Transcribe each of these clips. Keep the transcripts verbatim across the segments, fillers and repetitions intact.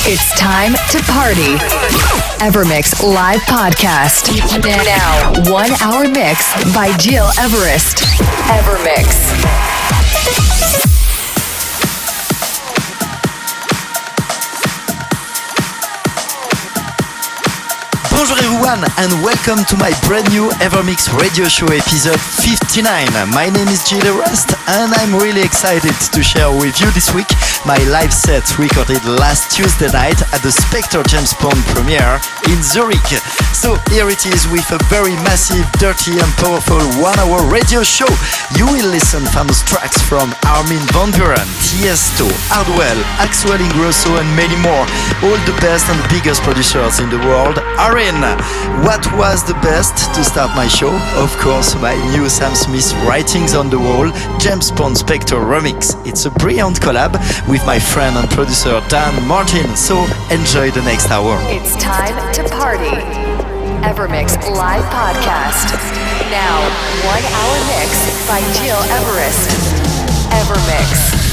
It's time to party. Evermix Live Podcast. Now, one hour mix by Gil Everest. Evermix. Bonjour everyone and welcome to my brand new Evermix radio show episode fifty-nine. My name is Gil Everest and I'm really excited to share with you this week my live set recorded last Tuesday night at the Spectre James Bond premiere in Zurich. So here it is with a very massive, dirty and powerful one hour radio show. You will listen famous tracks from Armin van Buuren, Tiesto, Hardwell, Axwell Ingrosso and many more. All the best and the biggest producers in the world are in. What was the best to start my show? Of course, my new Sam Smith Writings on the Wall James Bond Spectre remix. It's a brilliant collab with my friend and producer Dan Martin, so enjoy the next hour. It's time to party. Evermix Live Podcast. Now, one hour mix by Gil Everest. Evermix.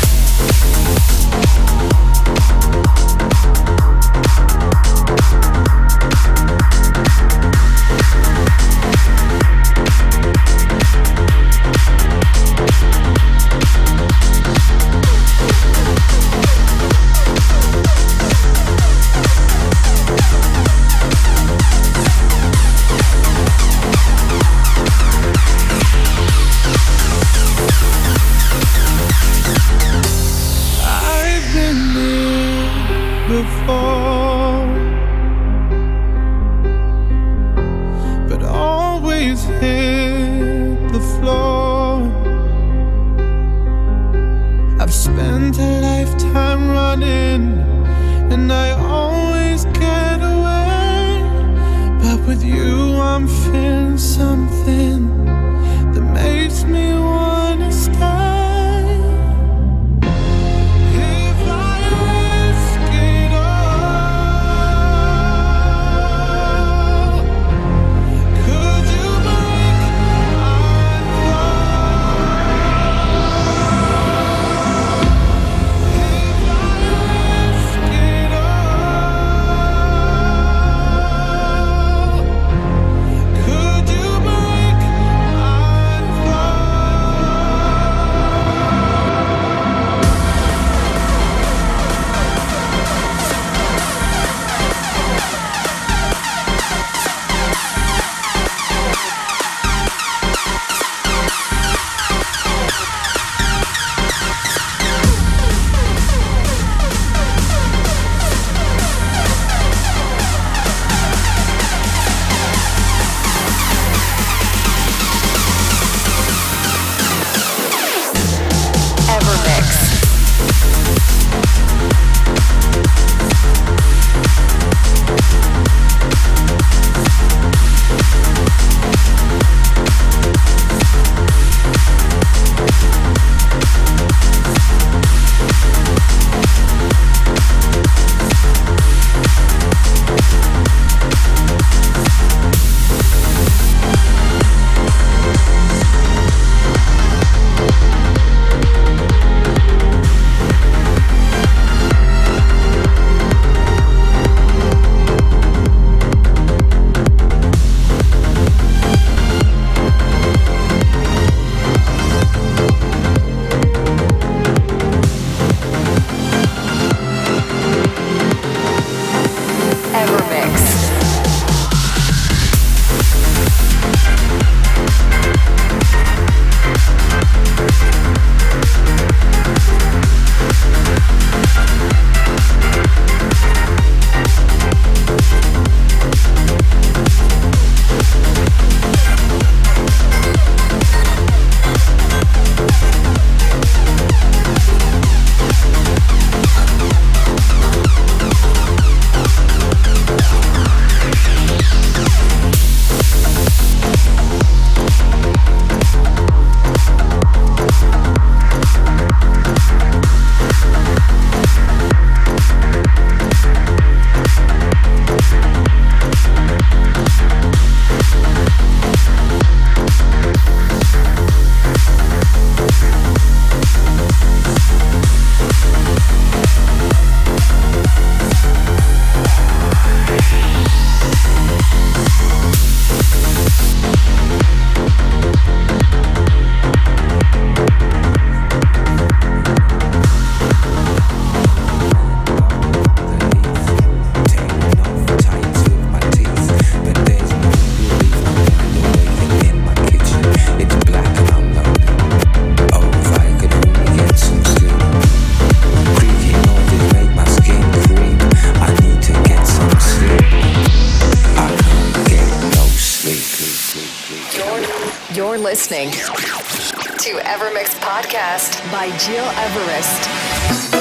listening to Evermix Podcast by Gil Everest.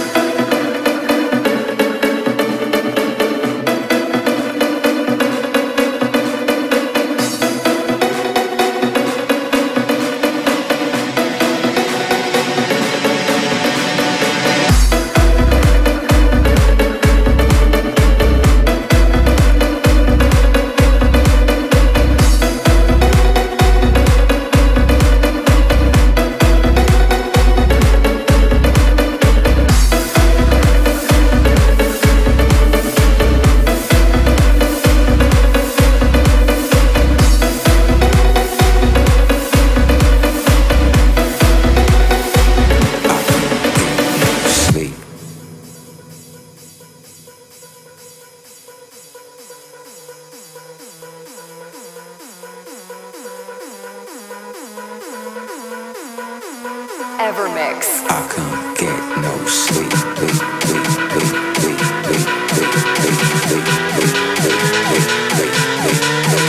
Evermix. I can't get no sleep. Sleep, sleep, sleep, sleep, sleep, sleep, sleep, sleep, sleep, sleep, sleep, sleep,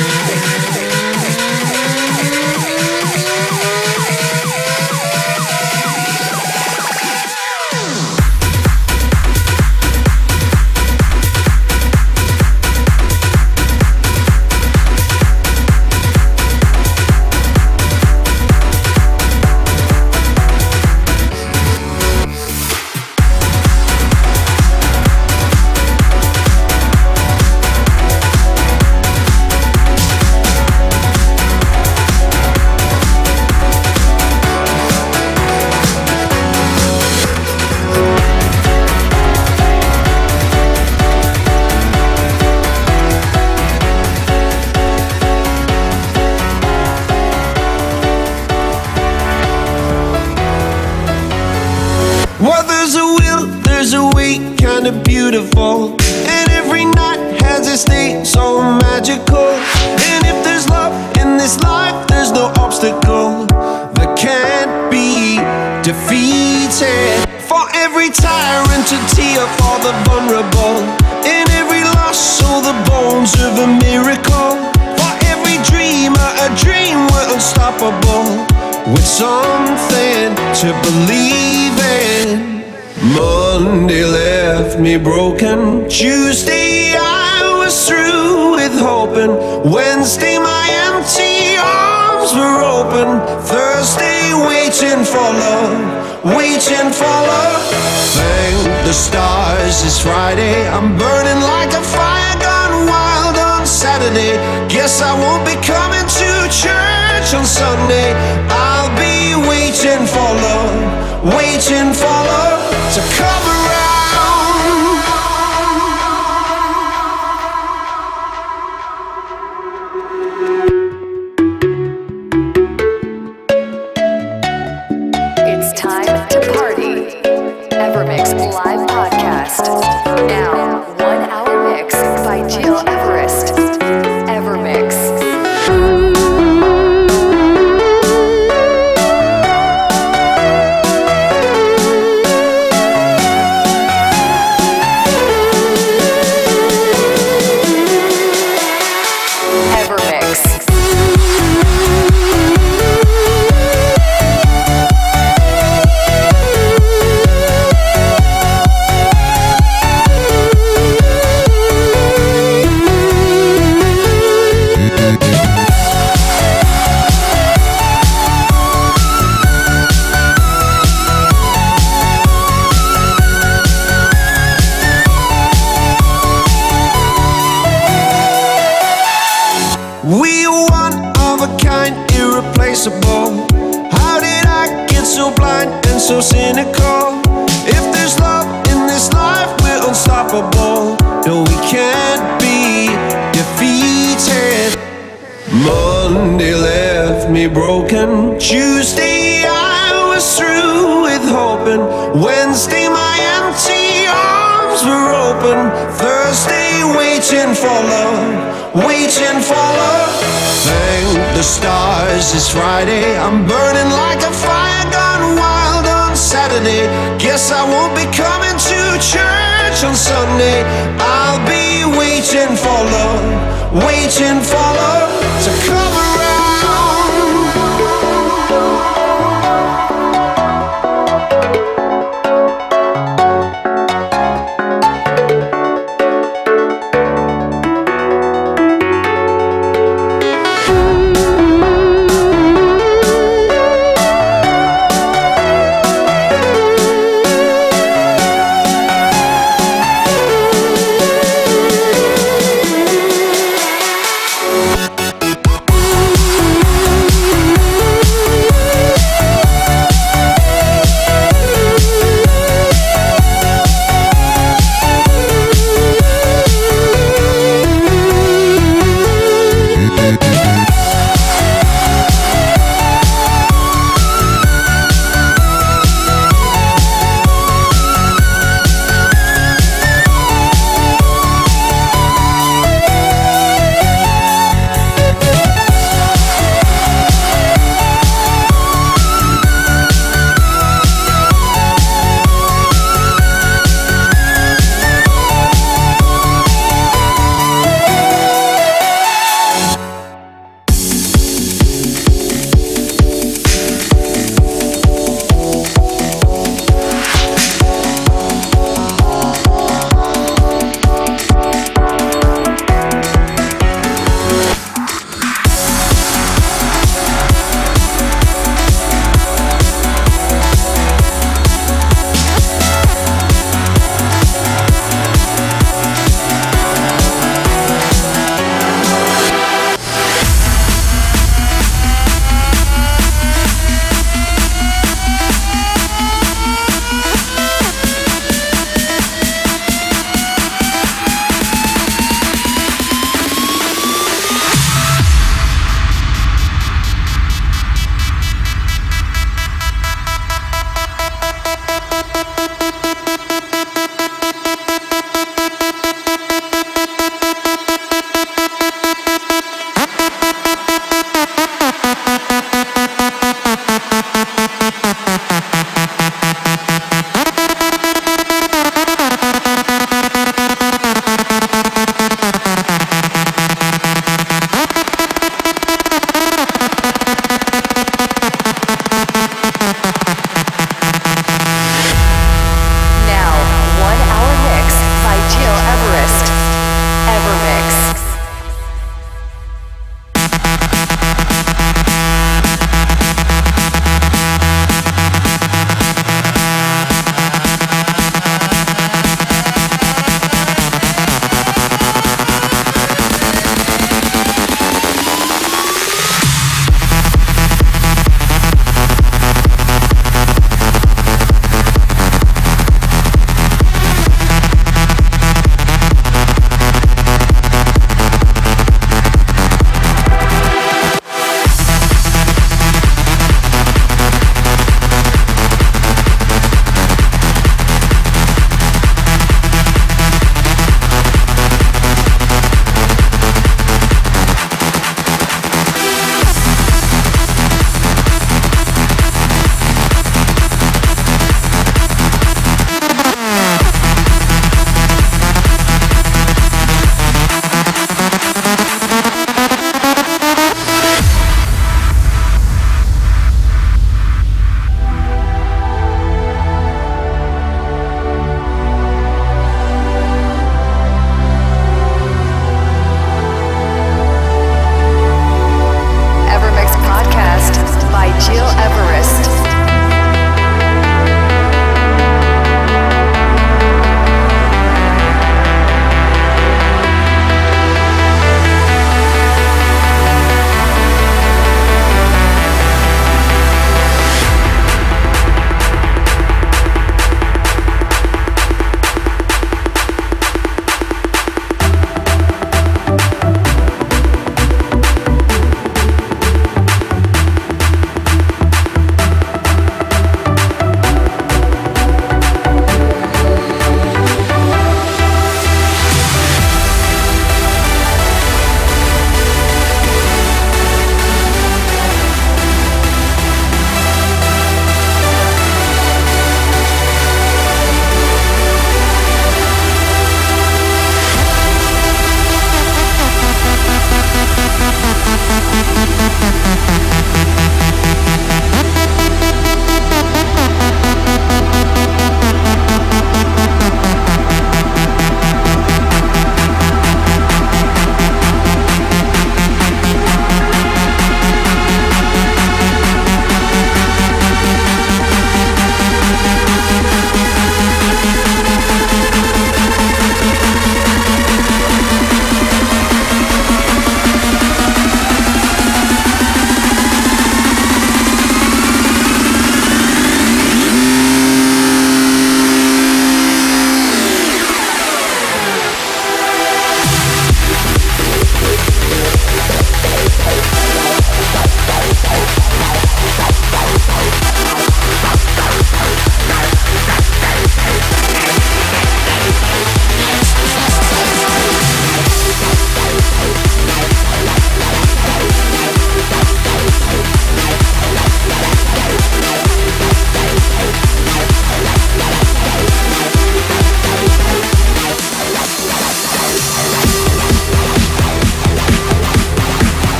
beautiful, and every night has a state so magical. And if there's love in this life, there's no obstacle that can't be defeated. For every tyrant, a tear for the vulnerable. In every loss, so the bones of a miracle. For every dreamer, a dream we're unstoppable, with something to believe in. Monday left me broken. Tuesday I was through with hoping. Wednesday my empty arms were open. Thursday waiting for love, waiting for love. Thank the stars it's Friday. I'm burning like a fire gone wild on Saturday. Guess I won't be coming to church on Sunday. I'll be waiting for love, waiting for love to come around. It's time to party. Evermix live podcast. Now, one hour mix by Gil Everest. Evermix. How did I get so blind and so cynical? If there's love in this life, we're unstoppable. No, we can't be defeated. Monday left me broken. Tuesday I was through with hoping. Wednesday my empty arms were open. Thursday waiting for love, waiting for love. Thank the stars it's Friday. I'm burning like a fire gone wild on Saturday. Guess I won't be coming to church on Sunday. I'll be waiting for love, waiting for love to come around.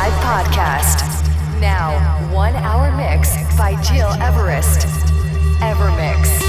Live Podcast. Now, one hour mix by Gil Everest. Evermix.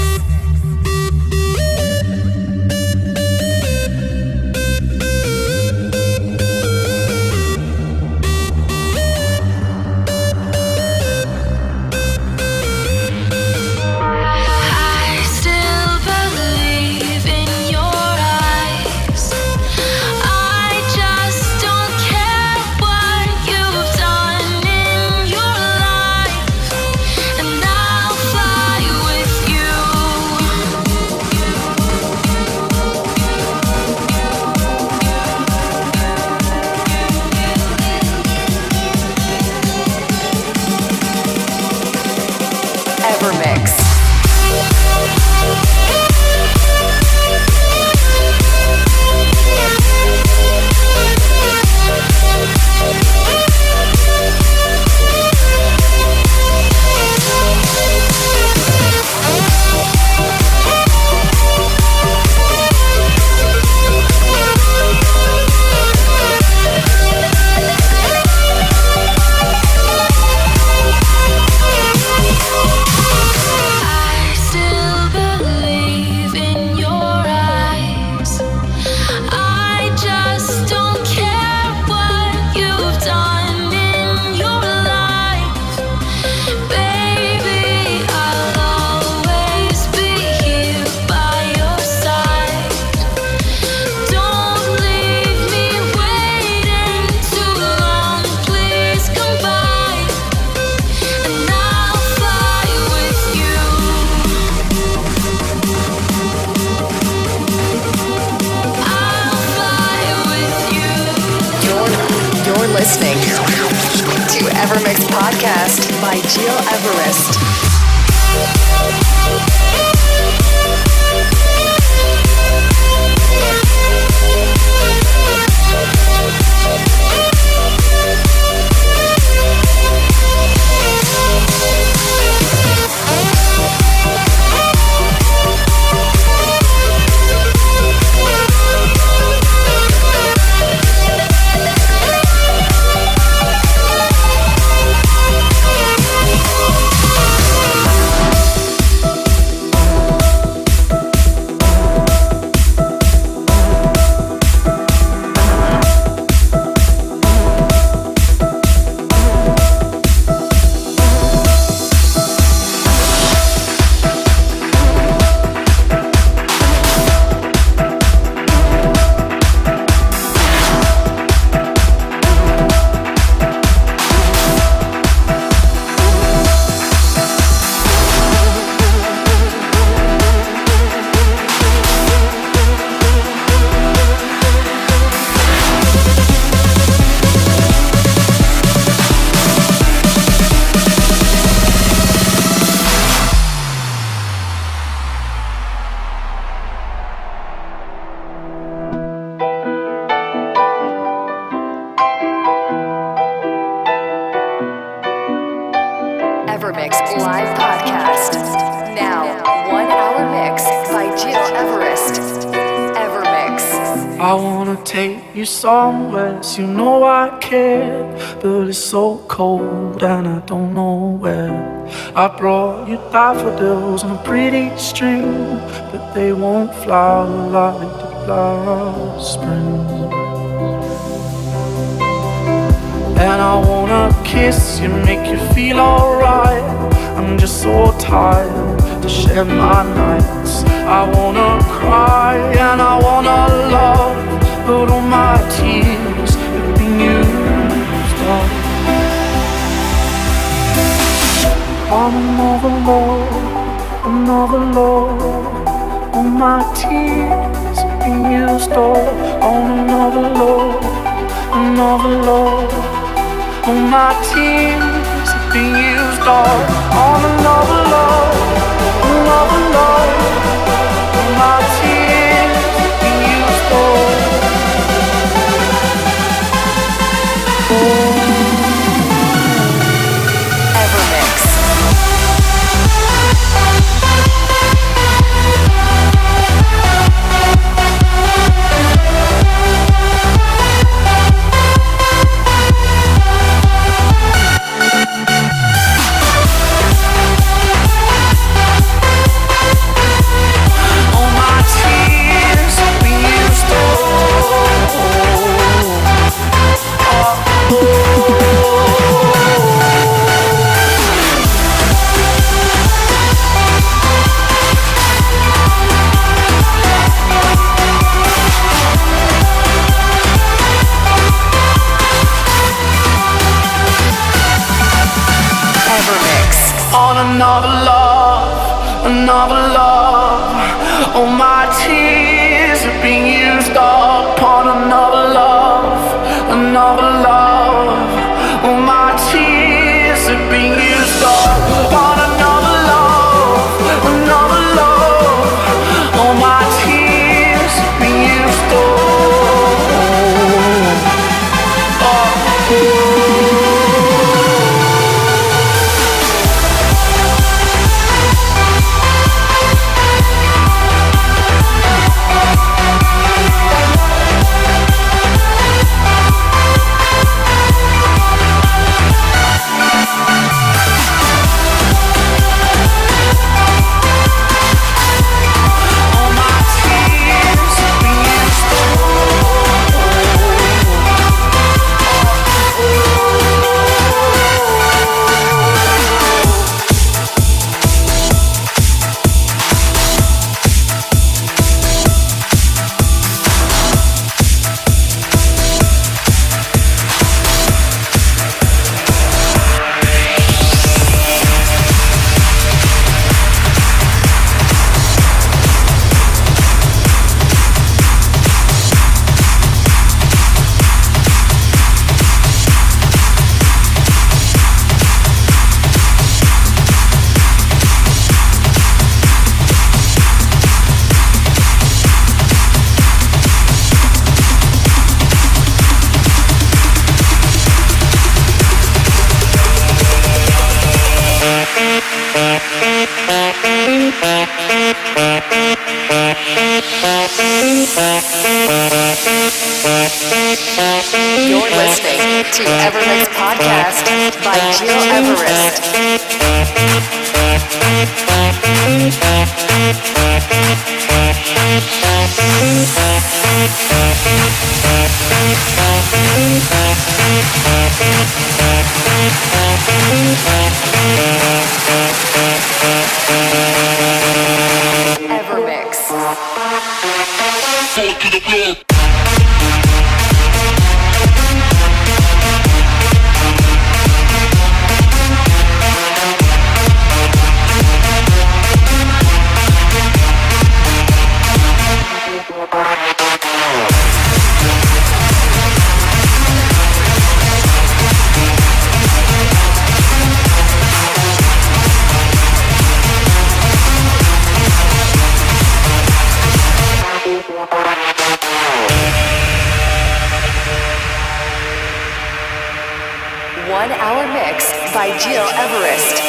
Listening to Evermix Podcast by Gil Everest. Evermix Live Podcast. Now, one hour mix by Gil Everest. Evermix. I wanna take you somewhere, so you know I care, but it's so cold and I don't know where. I brought you daffodils on a pretty string, but they won't flower like the last spring. And I wanna kiss you, make you feel alright. I'm just so tired to share my nights. I wanna cry and I wanna love, but all my tears have been used up. On another love, another love. All my tears have been used up. On another love, another love. All my tears have been used all on another love, another love. All my tears have been used all. Oh. Evermix. another love, another love. All my tears are being used upon another love, another love. All my tears are being used upon another love, another love. All my tears are being used up. You're listening to Evermix Podcast by Gil Everest. Evermix. Fall to the floor. One hour mix by Gil Everest.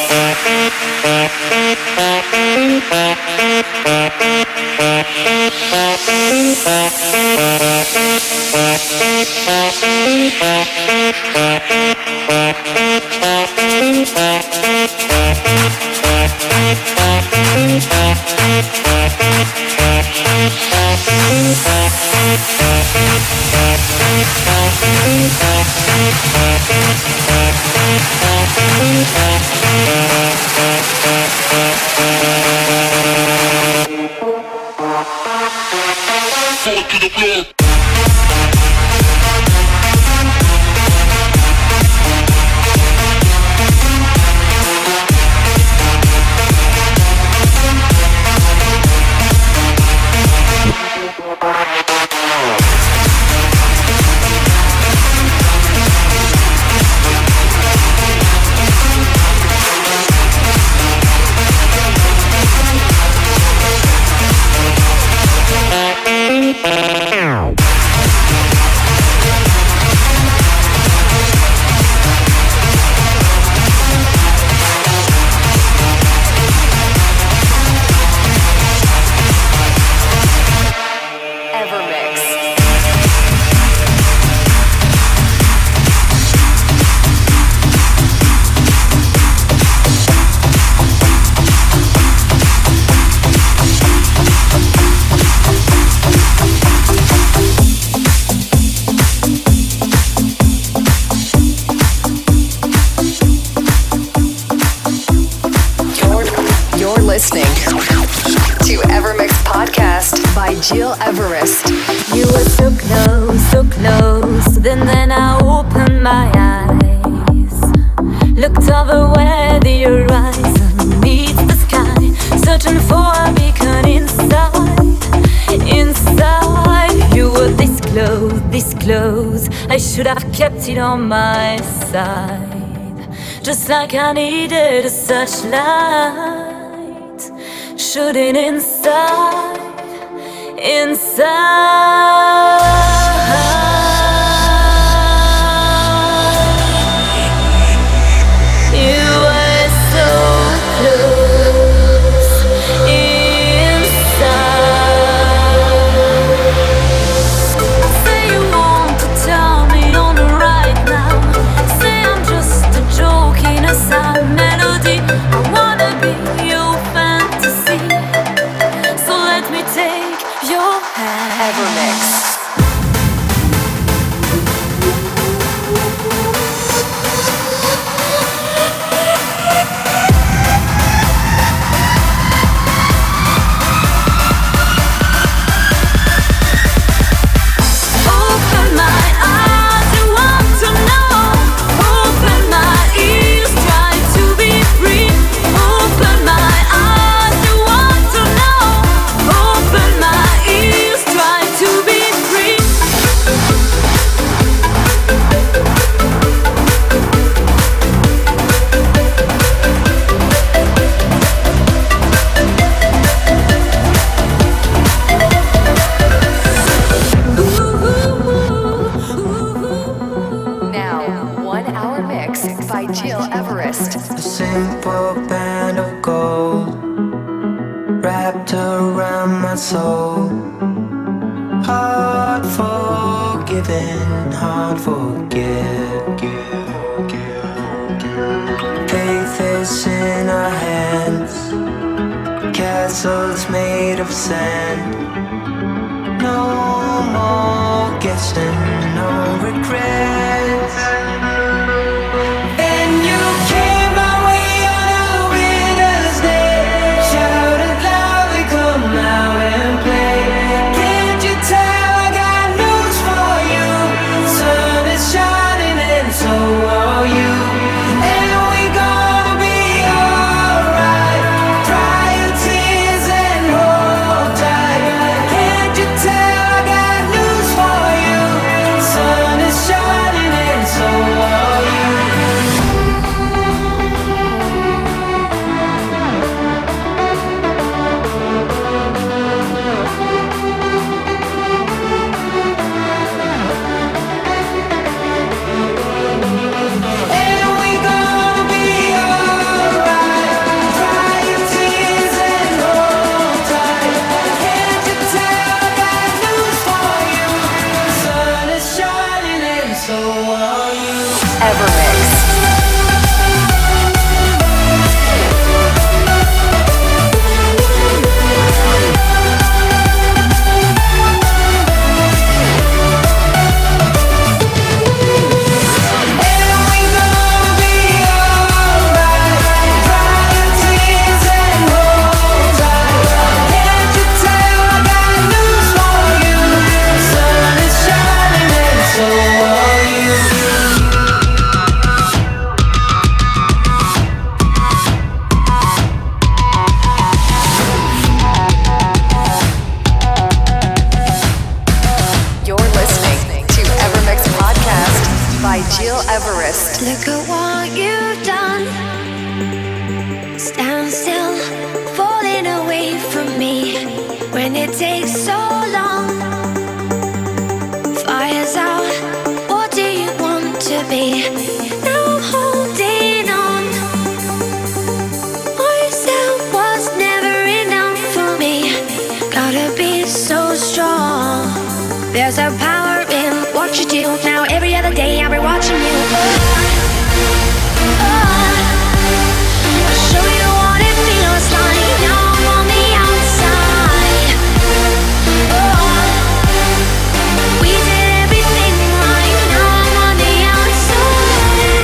Fall to the floor. Listening to Evermix Podcast by Gil Everest. You were so close, so close. Then, then I opened my eyes, looked over where the horizon clothes. I should have kept it on my side, just like I needed a searchlight. Shooting inside, inside. You were so close inside. Say you want to tell me on the right now. Say I'm just a joke in a sad melody. I wanna be your fantasy, so let me take your hand. Evermix. soul. Hard forgiven, hard forget. Faith is in our hands, castles made of sand. No more guessing, no regrets. And you came my way on a winter's day, shouted loudly, come out and play. Can't you tell I got news for you? Sun is shining and so are you. And we gonna be alright. Dry your tears and hold tight. Can't you tell I got news for you? Sun is shining and so are you. And we gonna be alright. Dry your tears and hold tight. Can't you tell I got news for you? Sun is shining and so are you. Evermix. And we gonna be alright. Dry your tears and hold tight. Can't you tell I got news for you? Sun is shining and so are you. You're listening to Evermix Podcast by Jill Everest. Look at what you've done. Stand still, falling away from me. When it takes so long, fire's out. What do you want to be? Now I'm holding on. Myself was never enough for me. Gotta be so strong. There's a power in what you do. Now every other day I'll be watching you. Oh, I'll show you what it feels like. Now I'm on the outside. Oh, we did everything right. Now I'm on the outside.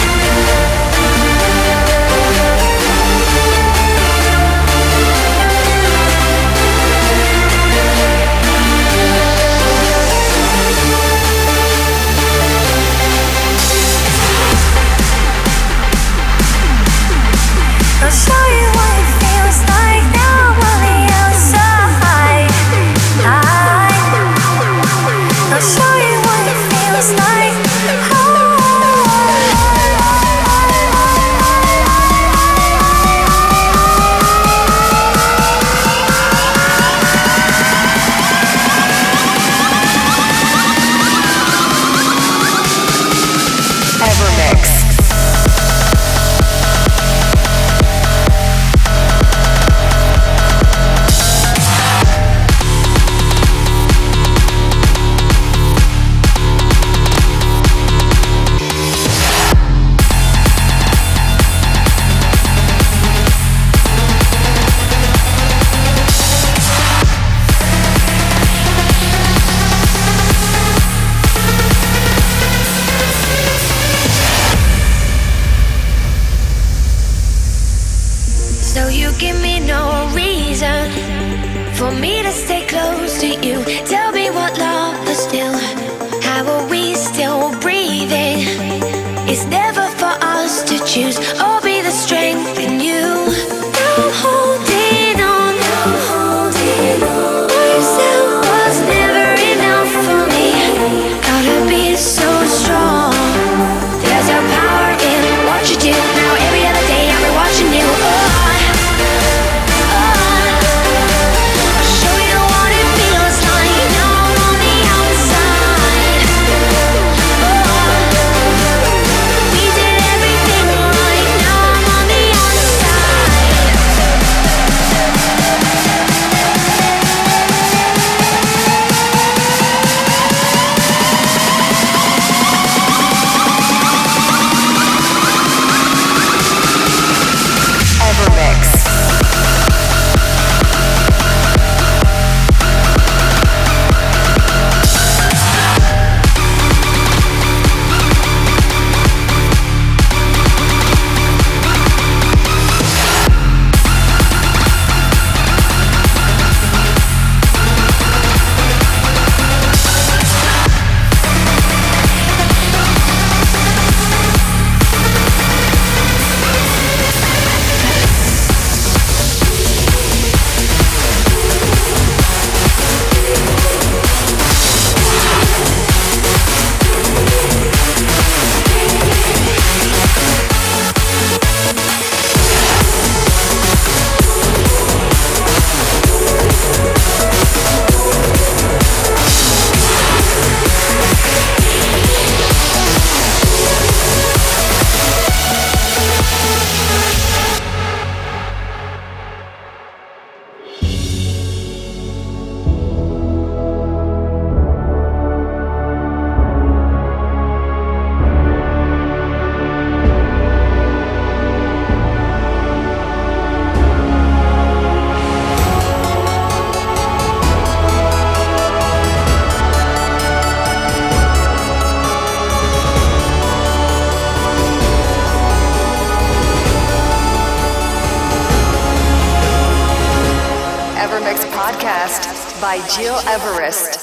for me to stay close to you. Tell me what love is still. How are we still breathing? It's never for us to choose or be the strength in you. Now holding on, now holding on. Yourself was never enough for me. Gotta be so strong. There's a power in what you do. Now every other day I'll be watching you. Oh. By Gil Everest.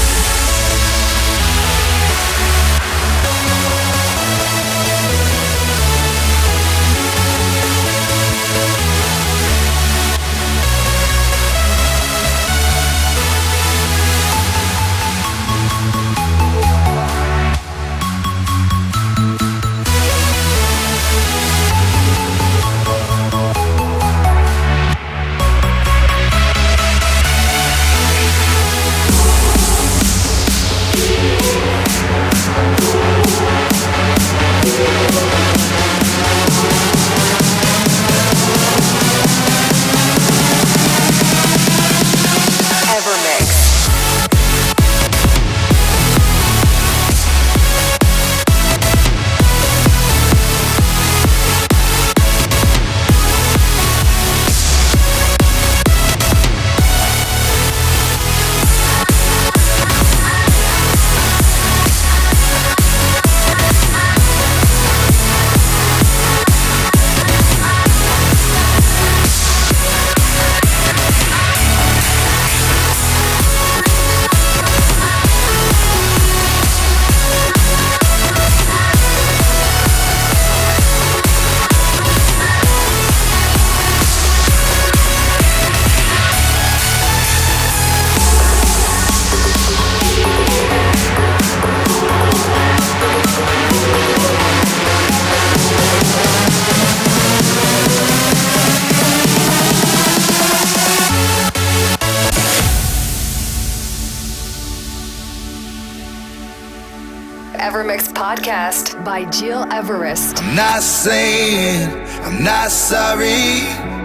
Evermix Podcast by Gil Everest. I'm not saying I'm not sorry,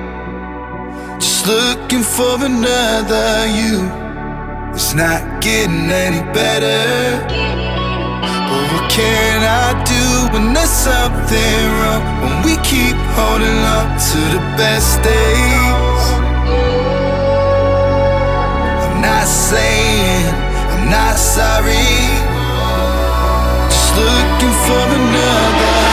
just looking for another you. It's not getting any better, but what can I do when there's something wrong? When we keep holding on to the best days. I'm not saying I'm not sorry, looking for another.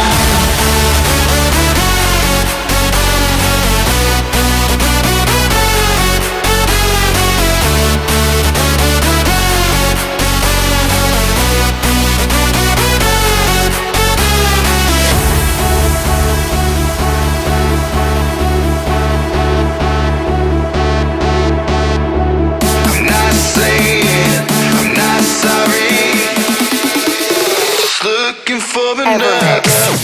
looking for Evermix.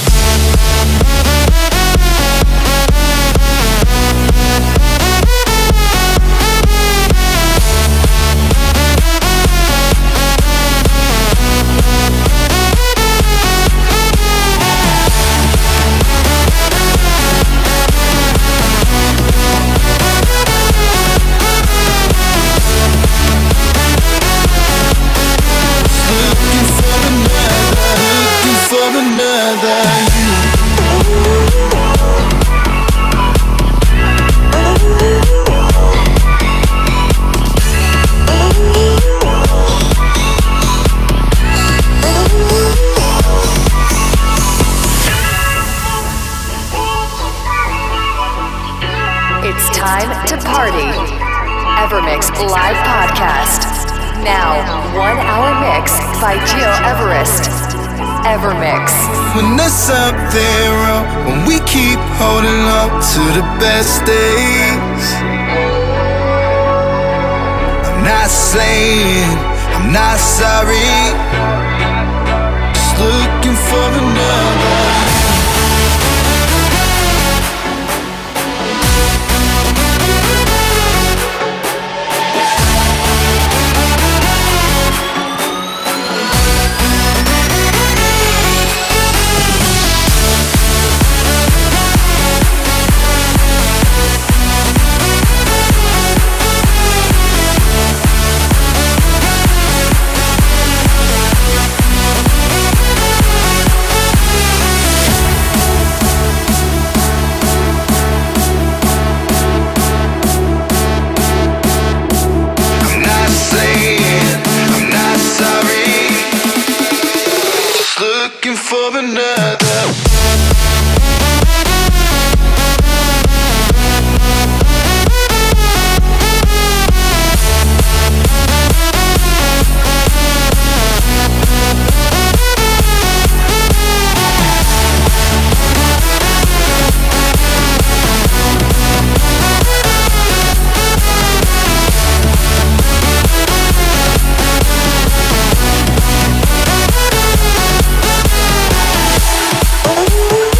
It's time to party. Evermix live podcast. Now, one hour mix by Gil Everest. Evermix. When there's something wrong, when we keep holding on to the best days, I'm not saying I'm not sorry, just looking for another. For another. Ooh.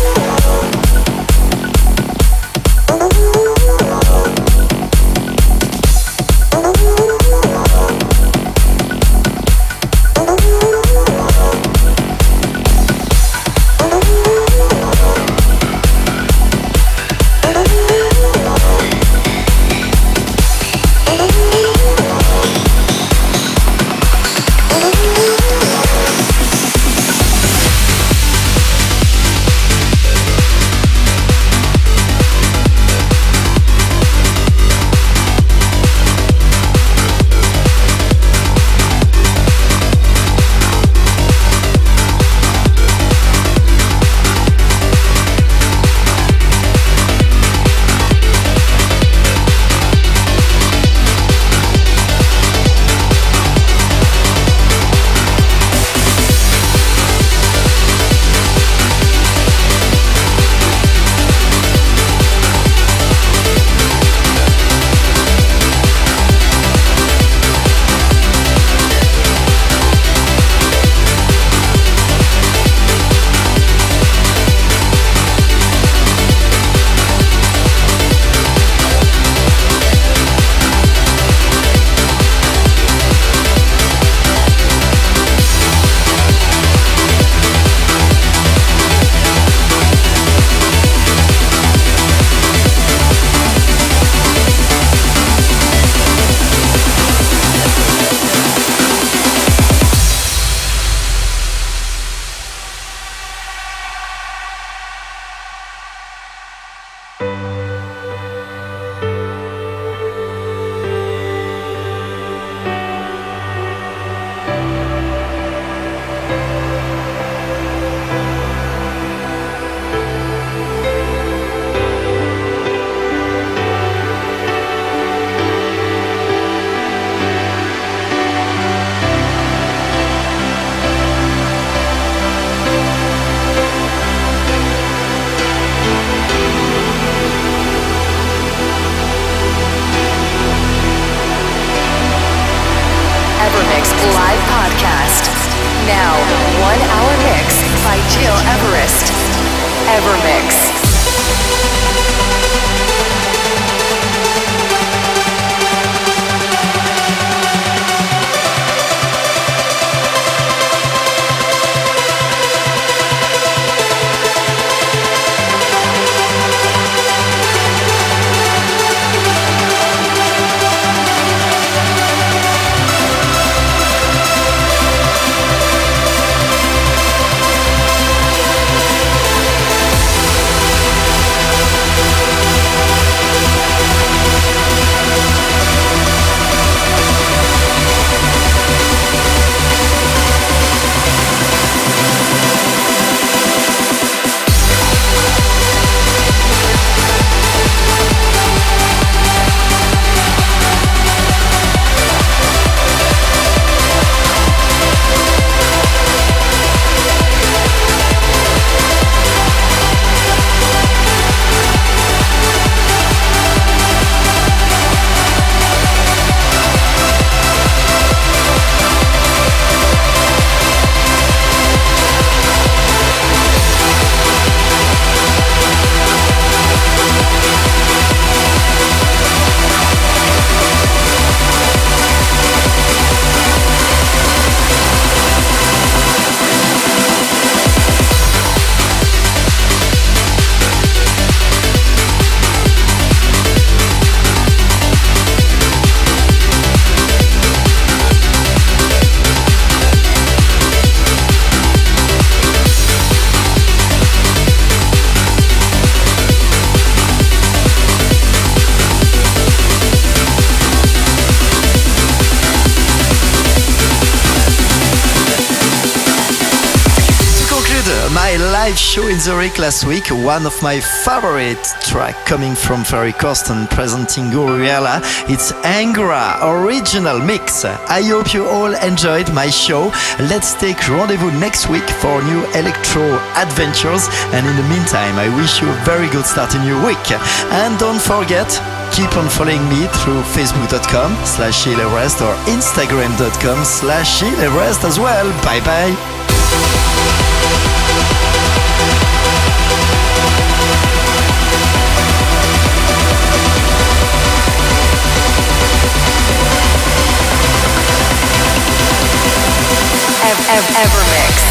my live show in Zurich last week, one of my favorite tracks coming from Ferry Corsten presenting Guriella. It's Angora original mix. I hope you all enjoyed my show. Let's take rendezvous next week for new electro adventures. And in the meantime, I wish you a very good start in your week. And don't forget, keep on following me through facebook.com slash Gil Everest or instagram.com slash Gil Everest as well. Bye bye. Ev- Ev- Evermix.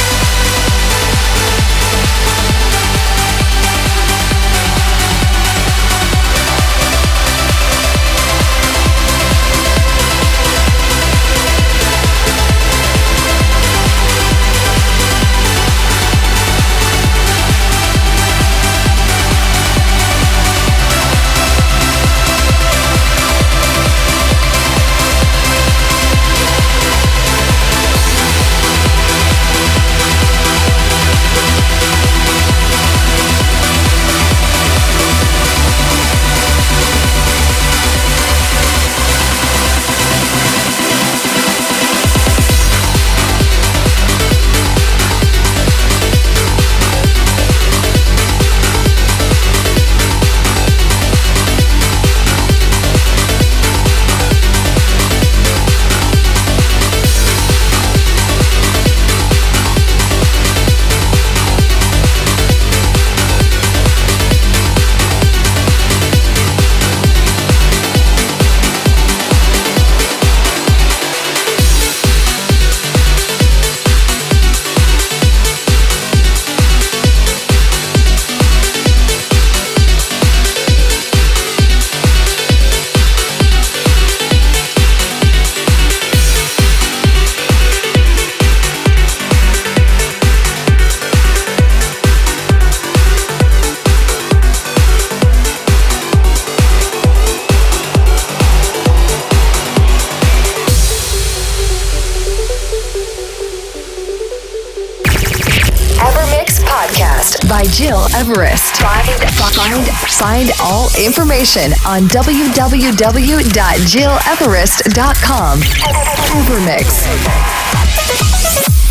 By Gil Everest. Find, find, find all information on w w w dot gil everest dot com. Evermix.